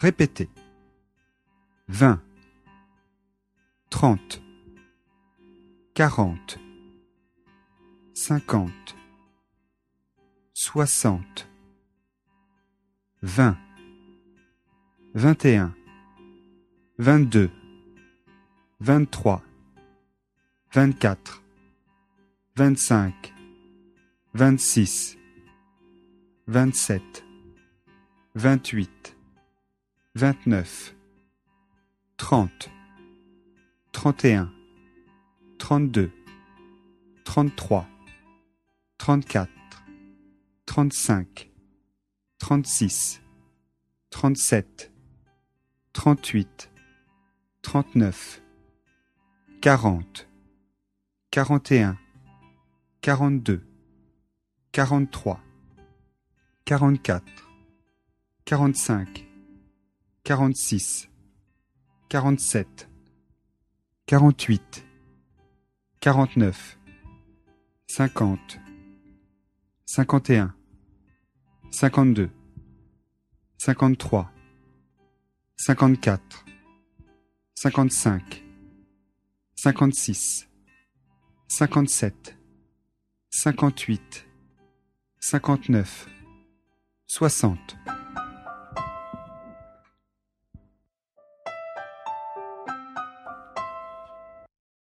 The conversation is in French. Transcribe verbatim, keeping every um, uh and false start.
Répétez. vingt, trente, quarante, cinquante, soixante, vingt, vingt et un, vingt-deux, vingt-trois, vingt-quatre, vingt-cinq, vingt-six, vingt-sept, vingt-huit, vingt-neuf, trente, trente et un, trente-deux, trente-trois, trente-quatre, trente-cinq, trente-six, trente-sept, trente-huit, trente-neuf, quarante, quarante et un, quarante-deux, quarante-trois, quarante-quatre, quarante-cinq, quarante-six, quarante-sept, quarante-huit, quarante-neuf, cinquante, cinquante et un, cinquante-deux, cinquante-trois, cinquante-quatre, cinquante-cinq, cinquante-six, cinquante-sept, cinquante-huit, cinquante-neuf, soixante.